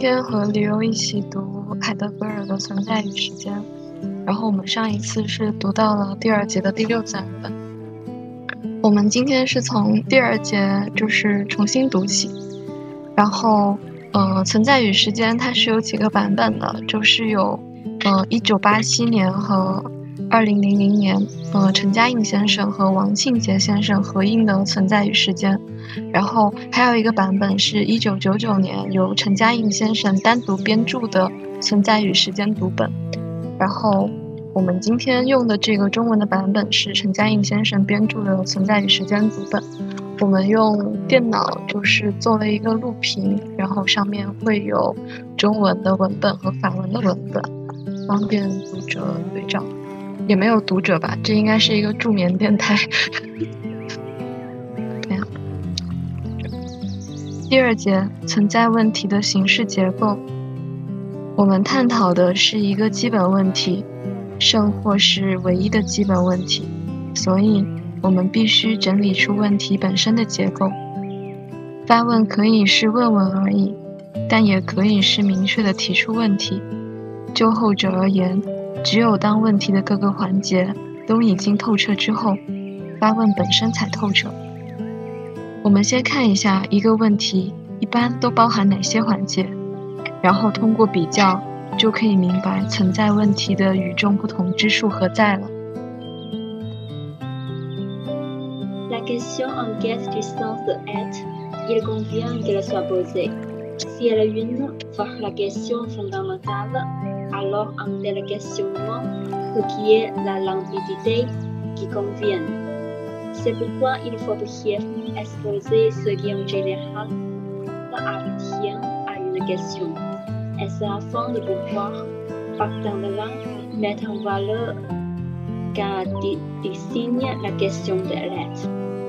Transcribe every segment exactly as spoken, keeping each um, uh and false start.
天和李欧一起读海德格尔的《存在与时间》，然后我们上一次是读到了第二节的第六自然本。我们今天是从第二节就是重新读起，然后呃，《存在与时间》它是有几个版本的，就是有呃一九八七年和二零零零年，呃，陈嘉映先生和王庆杰先生合印的《存在与时间》，然后还有一个版本是一九九九年由陈嘉映先生单独编著的《存在与时间》读本。然后我们今天用的这个中文的版本是陈嘉映先生编著的《存在与时间》读本。我们用电脑就是做了一个录屏，然后上面会有中文的文本和法文的文本，方便读者对照。也没有读者吧，这应该是一个助眠电台。对呀。第二节，存在问题的形式结构。我们探讨的是一个基本问题，甚或是唯一的基本问题，所以我们必须整理出问题本身的结构。发问可以是问问而已，但也可以是明确地提出问题。就后者而言，只有当问题的各个环节都已经透彻之后，发问本身才透彻。我们先看一下一个问题一般都包含哪些环节，然后通过比较就可以明白存在问题的与众不同之处何在了。 La question en quête du sens de être, il convient qu'elle soit posée. Si elle est une, voire la question fondamentale, alors un tel questionnement requiert la limpidité qui convient. C'est pourquoi il faut brièvement exposer ce qui en général appartient à une question. Et c'est afin de pouvoir, partant de là, mettre en valeur qu'elle désigne la question de l'être.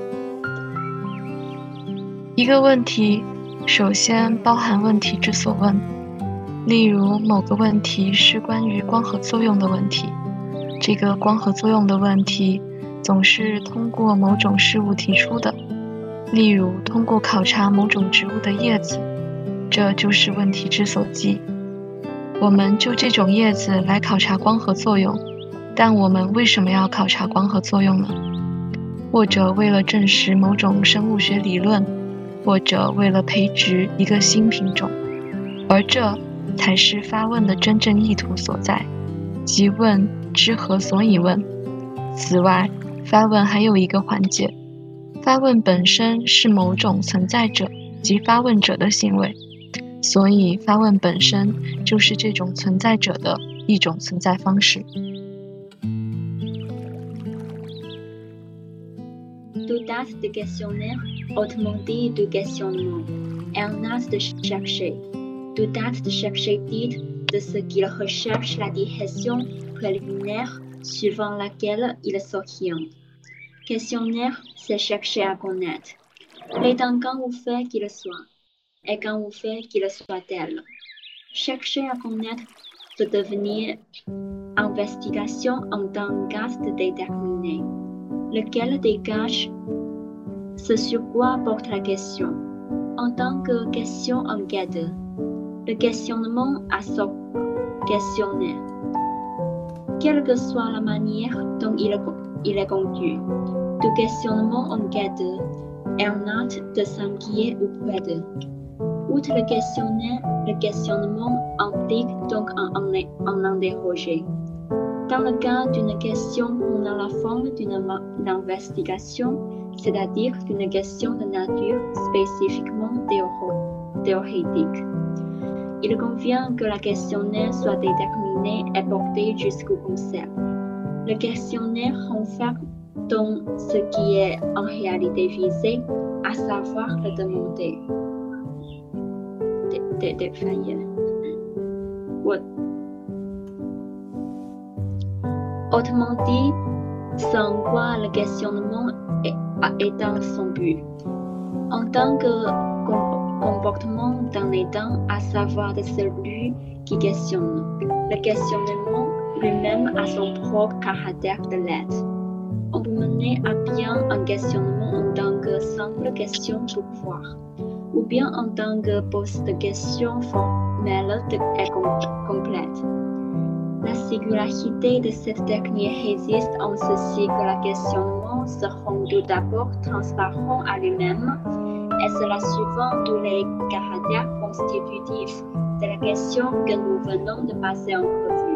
一个问题首先包含问题之所问，例如某个问题是关于光合作用的问题，这个光合作用的问题总是通过某种事物提出的，例如通过考察某种植物的叶子，这就是问题之所寄。我们就这种叶子来考察光合作用，但我们为什么要考察光合作用呢？或者为了证实某种生物学理论，或者为了培植一个新品种，而这才是发问的真正意图所在，即问之何所以问。此外，发问还有一个环节，发问本身是某种存在者及发问者的行为，所以发问本身就是这种存在者的一种存在方式。 Tout acte de questionnaire, autrement dit de questionnement, est un acte de chercher. Tout acte de chercher dit de ce qu'il recherche la direction préliminaire suivant laquelle il s'oriente. Questionnaire, c'est chercher à connaître. L'étant quand vous faites qu'il soit, et quand vous faites qu'il soit tel. Chercher à connaître peut devenir investigation en tant qu'acte déterminé, lequel dégage ce sur quoi porte la question, en tant que question en quête. Le questionnement a son questionnaire. Quelle que soit la manière dont il est, il est conduit, tout questionnement en quête est un acte de s'inquiéter ou près. Outre le questionnaire, le questionnement implique donc un, un, un interroger. Dans le cas d'une question prenant la forme d'une investigation, c'est-à-dire d'une question de nature spécifiquement théorique, il convient que la questionnaire soit déterminée et portée jusqu'au concept. Le questionnaire renferme donc ce qui est en réalité visé, à savoir le demander. Des défaillants. Autrement dit, sans quoi le questionnement est, est dans son but. En tant que comportement dans les temps, à savoir de celui qui questionne, le questionnement lui-même a son propre caractère de l'être. On peut mener à bien un questionnement en tant que simple question pour voir, ou bien en tant que pose de questions mais l'autre est complète. La singularité de cette technique réside en ceci que le questionnement se rend tout d'abord transparent à lui-même, et cela suivant tous les caractères constitutifs de la question que nous venons de passer en revue.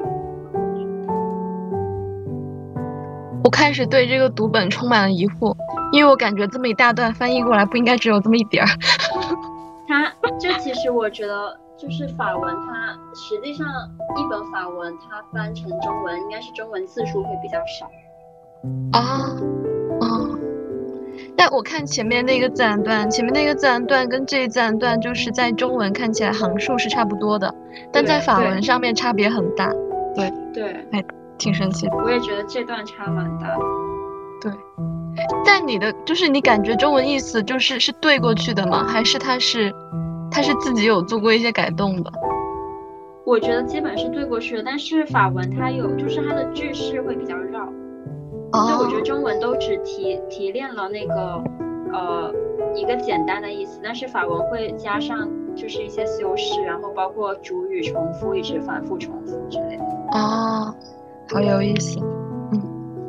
我开始对这个读本充满了疑惑，因为我感觉这么一大段翻译过来不应该只有这么一点儿。 它这其实我觉得就是法文，它实际上一本法文它翻成中文，应该是中文字数会比较少。 啊，哦，但我看前面那个自然段，前面那个自然段跟这一自然段就是在中文看起来行数是差不多的，但在法文上面差别很大。对对， 哎，挺神奇的。 我也觉得这段差蛮大的。 对，但你的就是你感觉中文意思就是是对过去的吗？还是他是他是自己有做过一些改动的？ 我觉得基本是对过去的，但是法文它有就是它的句式会比较绕， 哦， 所以我觉得中文都只提提炼了那个呃一个简单的意思，但是法文会加上就是一些修饰，然后包括主语重复一直反复重复之类的。 哦，好有意思。嗯，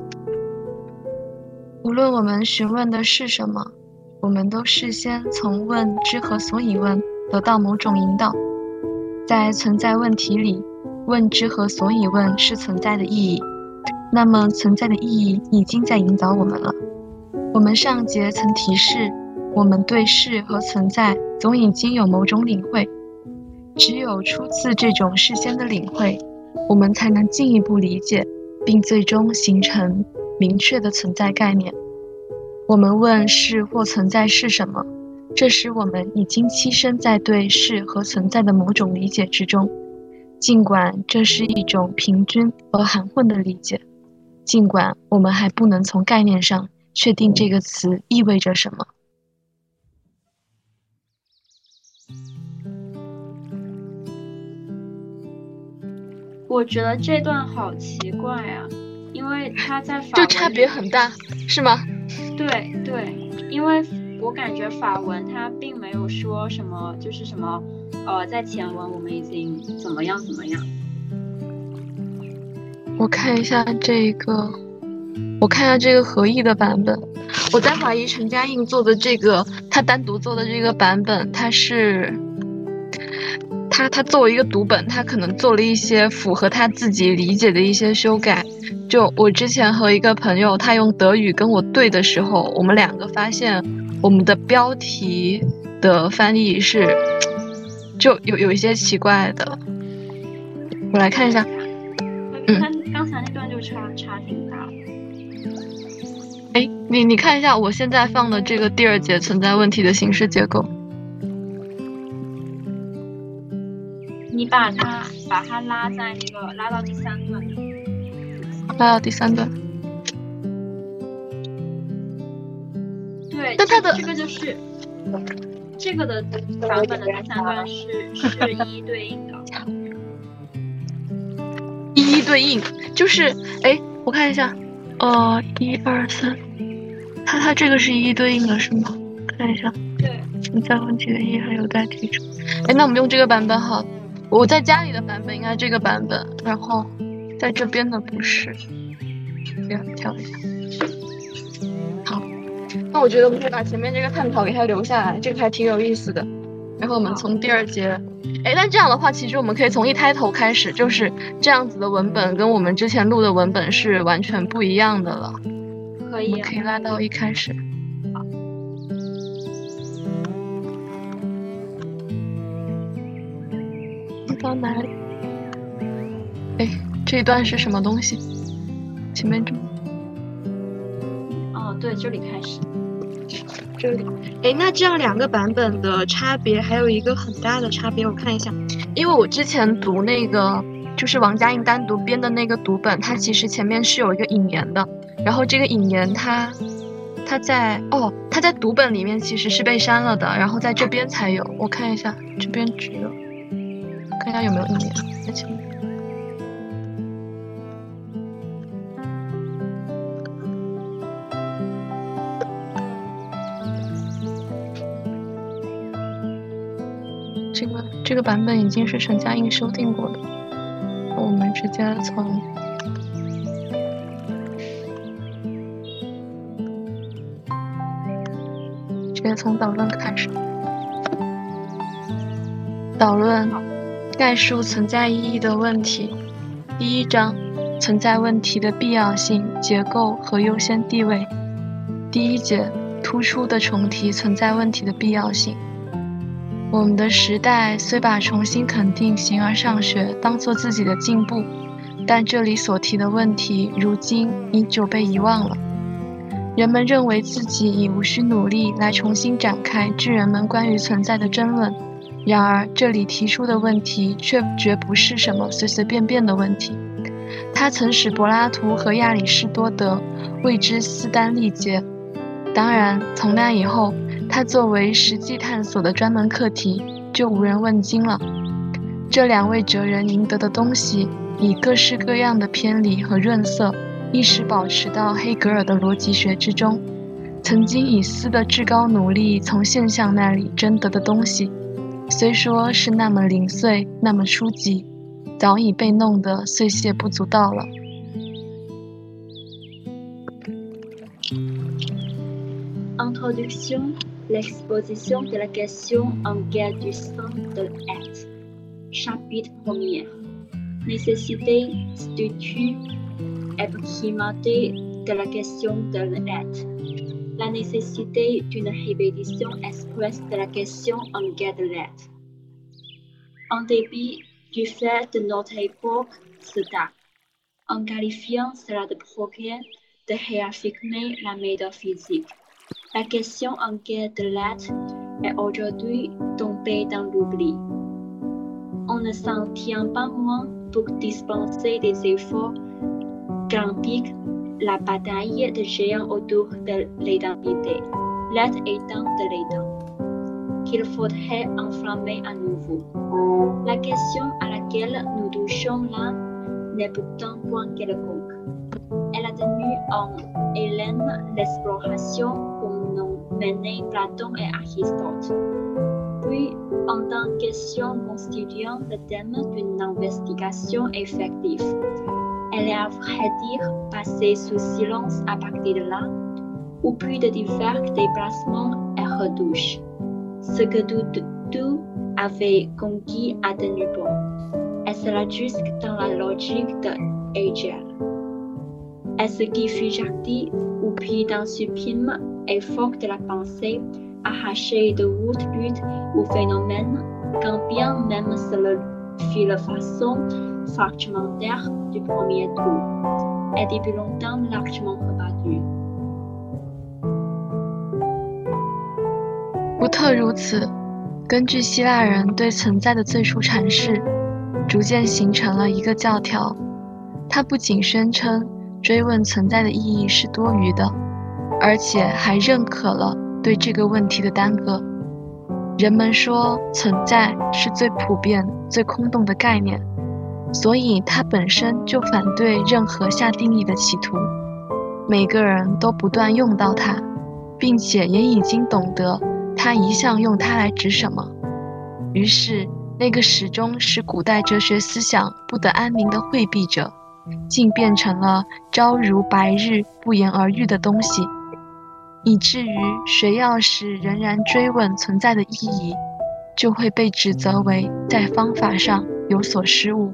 无论我们询问的是什么，我们都事先从问之和所以问得到某种引导。在存在问题里，问之和所以问是存在的意义，那么存在的意义已经在引导我们了。我们上节曾提示，我们对事和存在总已经有某种领会，只有出自这种事先的领会，我们才能进一步理解，并最终形成明确的存在概念。我们问是或存在是什么，这时我们已经栖身在对是和存在的某种理解之中，尽管这是一种平均而含混的理解，尽管我们还不能从概念上确定这个词意味着什么。 我觉得这段好奇怪啊，因为它在法就文差别很大，是吗？ 对对，因为我感觉法文它并没有说什么，就是什么，呃，在前文我们已经怎么样怎么样。 我看一下这个，我看一下这个合译的版本。我在怀疑陈嘉映做的这个，他单独做的这个版本，他是他他作为一个读本，他可能做了一些符合他自己理解的一些修改。就我之前和一个朋友，他用德语跟我对的时候，我们两个发现我们的标题的翻译是就有有一些奇怪的。我来看一下， 嗯，刚才那段就差差挺大的。 哎，你你看一下我现在放的这个第二节存在问题的形式结构。 你把它把它拉在那个拉到第三段。 拉到第三段。 对， 但它的这个就是这个的版本的第三段是是一一对应的。 一一对应就是哎，我看一下，呃，一二三，它它这个是一一对应的是吗？看一下。 对。 存在问题的一还有待提出。哎，那我们用这个版本好。我在家里的版本应该这个版本，然后在这边的不是。这样跳一下。好，那我觉得我们可以把前面这个探讨给它留下来，这个还挺有意思的。然后我们从第二节，哎，但这样的话，其实我们可以从一开头开始，就是这样子的文本跟我们之前录的文本是完全不一样的了。 可以、啊， 我们可以拉到一开始。 好。 到哪里？哎，这一段是什么东西？前面这。 哦，对，这里开始。 这里，哎，那这样两个版本的差别还有一个很大的差别，我看一下，因为我之前读那个就是王嘉映单独编的那个读本，它其实前面是有一个引言的，然后这个引言它它在哦，它在读本里面其实是被删了的，然后在这边才有，我看一下这边只有，看一下有没有引言在前面。 这个这个版本已经是陈嘉映修订过的，我们直接从直接从导论开始。导论概述存在意义的问题。第一章，存在问题的必要性、结构和优先地位。第一节，突出地重提存在问题的必要性。我们的时代虽把重新肯定形而上学当作自己的进步，但这里所提的问题如今已久被遗忘了。人们认为自己已无需努力来重新展开巨人们关于存在的争论，然而这里提出的问题却绝不是什么随随便便的问题。它曾使柏拉图和亚里士多德为之撕单力竭。当然，从那以后，它作为实际探索的专门课题就无人问津了。这两位哲人赢得的东西，以各式各样的偏离和润色，一时保持到黑格尔的逻辑学之中。曾经以斯的至高努力从现象那里争得的东西，虽说是那么零碎，那么初级，早已被弄得碎屑不足道了。 Introduction, l'exposition de la question en guerre du sens de l'être. Chapitre premier. Nécessité, statut et primauté de la question de l'être. La nécessité d'une répétition expresse de la question en guerre de l'être. En dépit du fait de notre époque se tape, en qualifiant cela de progrès, de réaffirmer la métaphysique. La question en guerre de l'être est aujourd'hui tombée dans l'oubli. On ne s'en tient pas moins pour dispenser des efforts grampiques la bataille des géants autour de l'identité, l'être étant de l'état, qu'il faudrait enflammer à nouveau. La question à laquelle nous touchons là n'est pourtant point quelconque. Elle a tenu en haleine l'exploration comme n'ont mené Platon et Aristote. Puis, en tant que question constituant le thème d'une investigation effective, elle est à vrai dire passée sous silence à partir de là, où plus de divers déplacements et retouches. Ce que tout, tout avait conquis a tenu bon, et cela jusque dans la logique de Hegel. Et ce qui fut jadis, ou pris d'un sublime effort de la pensée, arraché de haute lutte au phénomène, quand bien même cela fut la façon fragmentaire du premier tour, et depuis longtemps largement rebattu. 不特如此，根据希腊人对存在的最初阐释，逐渐形成了一个教条。它不仅宣称追问存在的意义是多余的，而且还认可了对这个问题的耽搁。人们说存在是最普遍、最空洞的概念，所以它本身就反对任何下定义的企图。每个人都不断用到它，并且也已经懂得他一向用它来指什么。于是，那个始终使古代哲学思想不得安宁的惠避者，竟变成了朝如白日、不言而喻的东西，以至于谁要是仍然追问存在的意义，就会被指责为在方法上有所失误。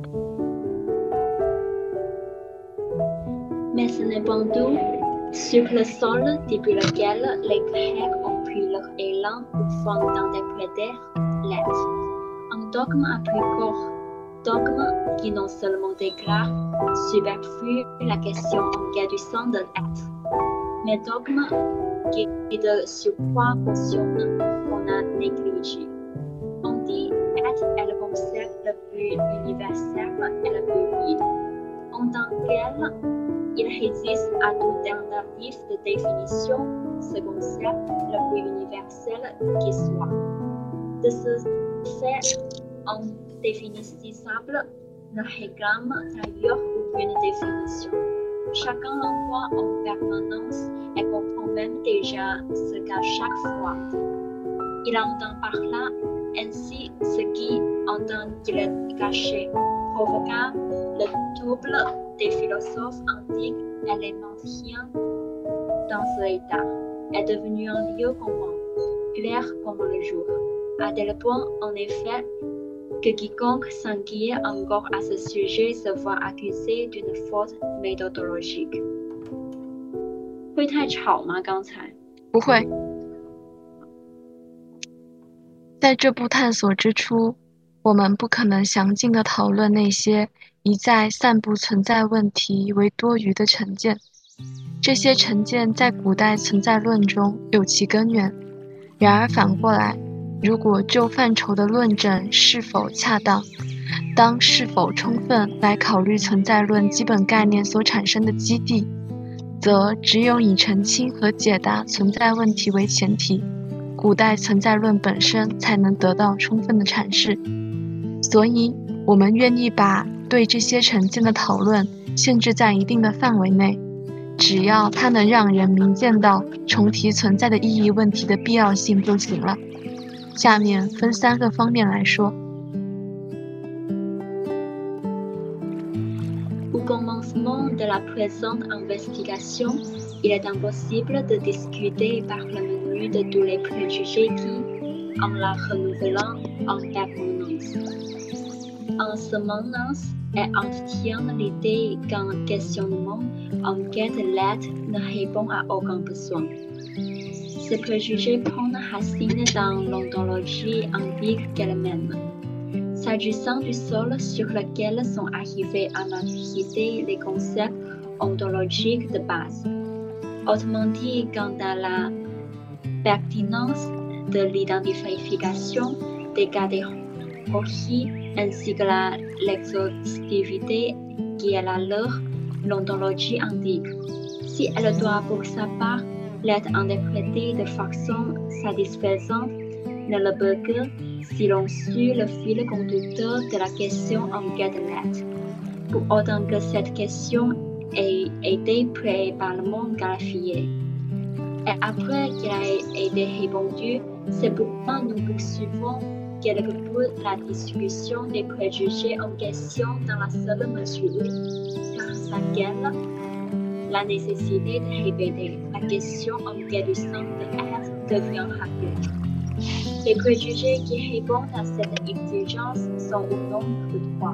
Mais ce n'est pas tout. Sur le sol depuis lequel les Grecs ont pris leur élan au fond d'interpréter l'être. Un dogme à plus court, dogme qui non seulement déclare superflu la question en guerre du sens de l'être, mais dogme qui de surcroît mentionne qu'on a négligé. On dit être est le concept le plus universel et le plus vide. En tant qu'elle, il résiste à toute tentative de définition, ce concept le plus universel qui soit. De ce fait, indéfinissable ne réclame d'ailleurs aucune définition. Chacun l'envoie en permanence et comprend même déjà ce qu'à chaque fois. Il entend par là Ainsi, ce qui, en tant qu'il est caché, provoqua le trouble des philosophes antiques et les maintiens dans ce état, est devenu un lieu commun, clair comme le jour, à tel point, en effet, que quiconque s'inquiète encore à ce sujet se voit accusé d'une faute méthodologique。会太吵吗？刚才不会。在这部探索之初，我们不可能详尽地讨论那些一再散布存在问题为多余的成见。这些成见在古代存在论中有其根源。然而反过来，如果就范畴的论证是否恰当，当是否充分来考虑存在论基本概念所产生的基地，则只有以澄清和解答存在问题为前提，古代存在论本身才能得到充分的阐释。所以，我们愿意把对这些成见的讨论限制在一定的范围内，只要它能让人明见到重提存在的意义问题的必要性就行了。下面分三个方面来说。 Au commencement de la présente investigation, il est impossible de discuter par le menu de tous les préjugés qui, en la renouvelant en permanence, ensemencent et entretiennent l'idée qu'un questionnement en quête d'aide ne répond à aucun besoin. Ces préjugés prennent racine dans l'ontologie antique qu'elle-même. S'agissant du sol sur lequel sont arrivés à maturité les concepts ontologiques de base. Autrement dit, quant à la pertinence de l'identification des catégories ainsi que la l'exhaustivité qui est la leur, l'ontologie antique. Si elle doit pour sa part l'être interprétée de façon satisfaisante, ne le peut que si l'on suit le fil conducteur de la question en quête d'aide, pour autant que cette question ait été préalablement clarifiée. Et après qu'elle a été répondue, c'est pourquoi nous poursuivons quelque peu la discussion des préjugés en question dans la seule mesure par laquelle la nécessité de répéter la question en quête du sens de l'être devient rapide. Les préjugés qui répondent à cette exigence sont au nombre de trois.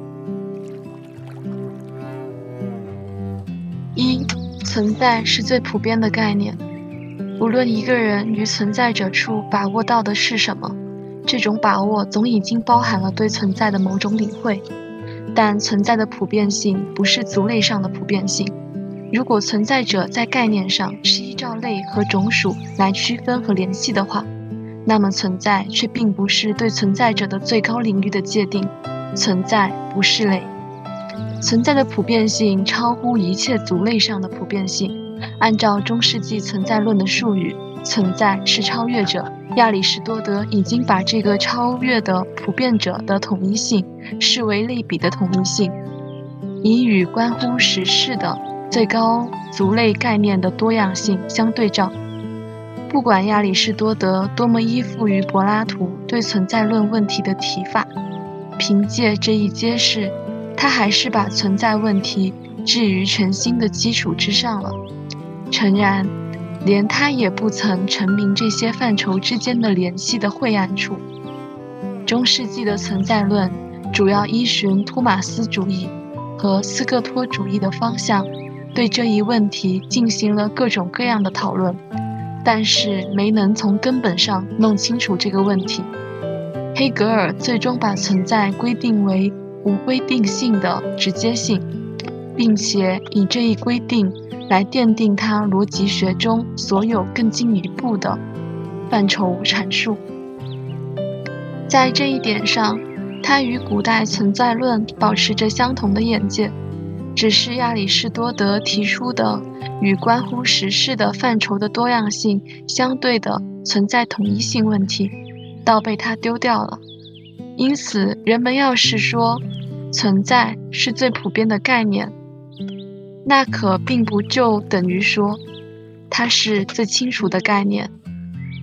一、存在是最普遍的概念，无论一个人于存在者处把握到的是什么，这种把握总已经包含了对存在的某种领会。但存在的普遍性不是族类上的普遍性。如果存在者在概念上是依照类和种属来区分和联系的话，那么存在却并不是对存在者的最高领域的界定，存在不是类。存在的普遍性超乎一切族类上的普遍性。按照中世纪存在论的术语，存在是超越者。亚里士多德已经把这个超越的普遍者的统一性视为类比的统一性，以与关乎实事的最高族类概念的多样性相对照。不管亚里士多德多么依附于柏拉图对存在论问题的提法，凭借这一揭示，他还是把存在问题置于全新的基础之上了。诚然，连他也不曾陈明这些范畴之间的联系的晦暗处。中世纪的存在论主要依循托马斯主义和斯各托主义的方向，对这一问题进行了各种各样的讨论，但是没能从根本上弄清楚这个问题。黑格尔最终把存在规定为无规定性的直接性，并且以这一规定来奠定他逻辑学中所有更进一步的范畴阐述。在这一点上，他与古代存在论保持着相同的眼界，只是亚里士多德提出的与关乎实事的范畴的多样性相对的存在统一性问题，倒被他丢掉了。因此，人们要是说存在是最普遍的概念，那可并不就等于说它是最清楚的概念。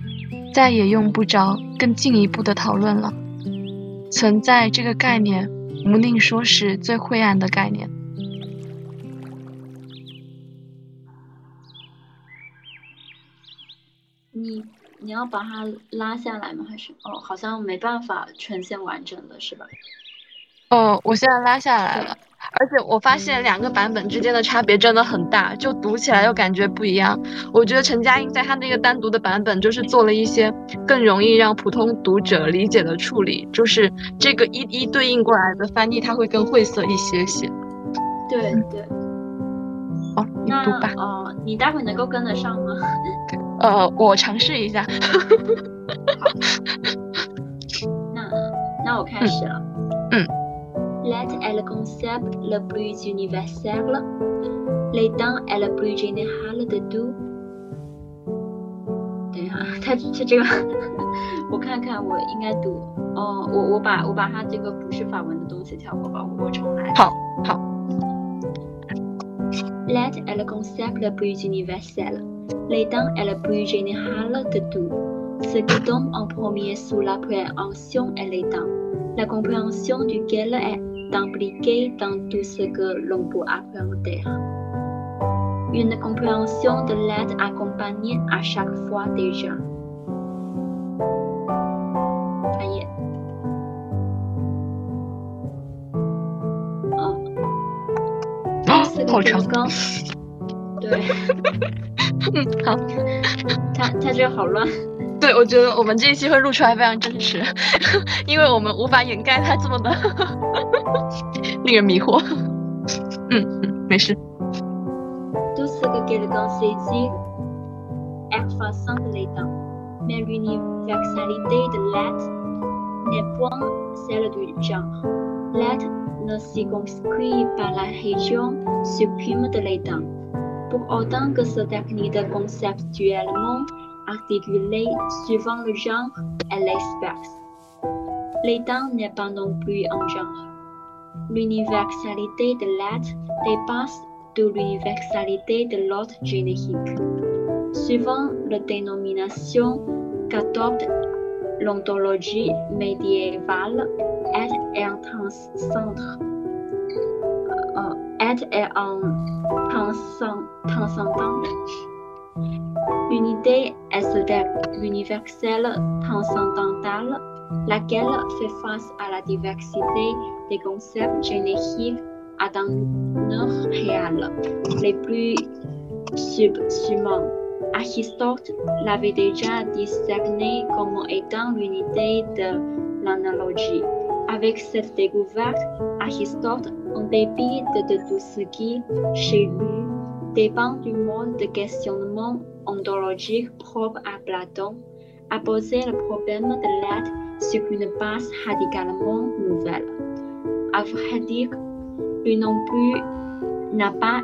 再也用不着更进一步的讨论了。存在这个概念，无宁说是最晦暗的概念。 你你要把它拉下来吗？还是哦，好像没办法呈现完整的是吧？ 哦，我现在拉下来了，而且我发现两个版本之间的差别真的很大，就读起来又感觉不一样。我觉得陈嘉映在他那个单独的版本，就是做了一些更容易让普通读者理解的处理，就是这个一一对应过来的翻译，它会更晦涩一些些。 对对。 哦，你读吧。 哦，你待会能够跟得上吗？ 呃，我尝试一下。 好，那那我开始了。 嗯。 L'être est le concept le plus universel. L'état est le plus général de tout. 等一下，它它这个，我看看，我应该读哦，我我把我把它这个不是法文的东西跳过吧，我我重来。 好，好。 L'être est le concept le plus universel. L'état est le plus général de tout. Ce qui tombe en premier sous l'appréhension est l'état, la compréhension duquel est impliquée dans tout ce que l'on peut appréhender. Une compréhension de l'être accompagnée à chaque fois déjà. 翻页。哦。 好长。 对。 嗯，好。 它它这个好乱。 对，我觉得我们这一期会录出来非常真实，因为我们无法掩盖它这么的令人迷惑。嗯嗯，没事。 Tout ce que quelqu'un saisit est façon de l'état, mais l'universalité de l'être n'est point celle du genre. L'être ne circonscrit pas la région suprême de l'état, pour autant que ce dernier est conceptuellement articulé suivant le genre et l'espèce. L'état n'est pas non plus un genre. L'universalité de l'être dépasse de l'universalité de l'ordre générique. Suivant la dénomination qu'adopte l'ontologie médiévale, être est un transcendant. Euh, être est un transcendant. L'unité est l'universel transcendantal, laquelle fait face à la diversité des concepts génériques à dans leur réel, les plus subsumants. Aristote l'avait déjà discerné comme étant l'unité de l'analogie. Avec cette découverte, Aristote, en dépit de, de tout ce qui, chez lui, dépend du mode de questionnement ontologique propre à Platon, a posé le problème de l'être sur une base radicalement nouvelle. À vrai dire, lui non plus n'a pas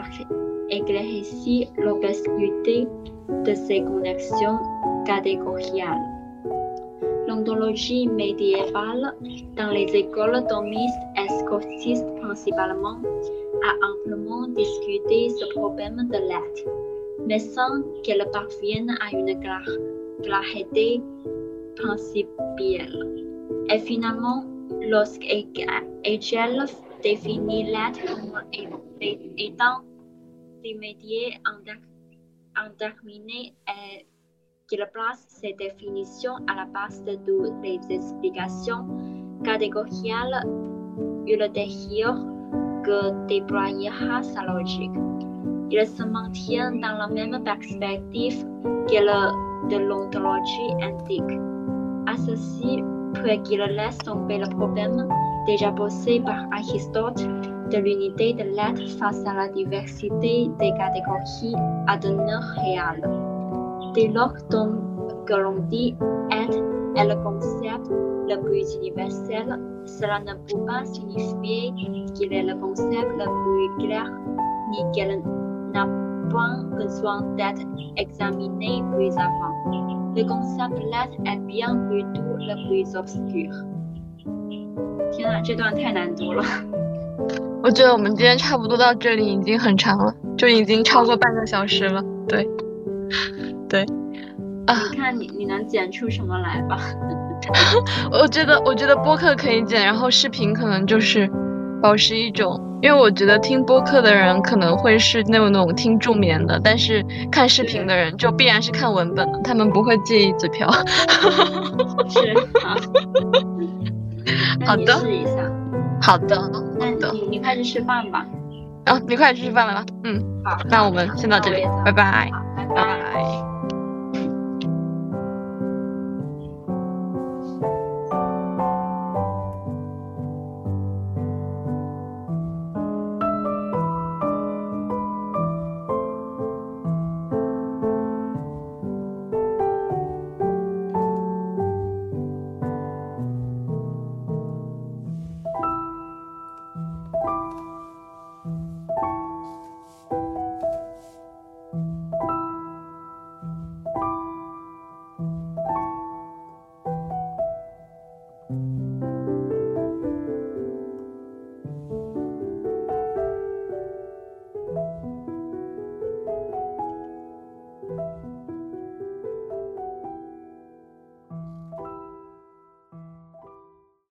éclairci l'obscurité de ses connexions catégoriales. L'ontologie médiévale, dans les écoles thomistes et scotistes principalement, a amplement discuté ce problème de l'être, mais sans qu'elle parvienne à une clarté principielle. Et finalement, lorsque Hegel définit l'être comme étant l'immédiat indéterminé et qu'il place ces définitions à la base de toutes les explications catégoriales ultérieures que déployera sa logique. Il se maintient dans la même perspective que le de l'ontologie antique. À ceci, puis qu'il laisse tomber le problème déjà posé par Aristote de l'unité de l'être face à la diversité des catégories à devenir réelles. Dès lors que l'on dit être est le concept le plus universel, cela ne peut pas signifier qu'il est le concept le plus clair, ni qu'il n'a point besoin d'être examiné plus avant. Le concept de l'être est bien plutôt le plus obscur. 天啊，这段太难读了。 我觉得我们今天差不多到这里已经很长了，就已经超过半个小时了。对，对， 你看你你能剪出什么来吧？ 我觉得我觉得播客可以剪，然后视频可能就是保持一种，因为我觉得听播客的人可能会是那种那种听助眠的，但是看视频的人就必然是看文本的，他们不会介意嘴瓢。 是好， 好的， 试一下。 好的，好的。你你快去吃饭吧。 啊，你快去吃饭了吧？嗯， 好， 那我们先到这里，拜拜， 拜拜。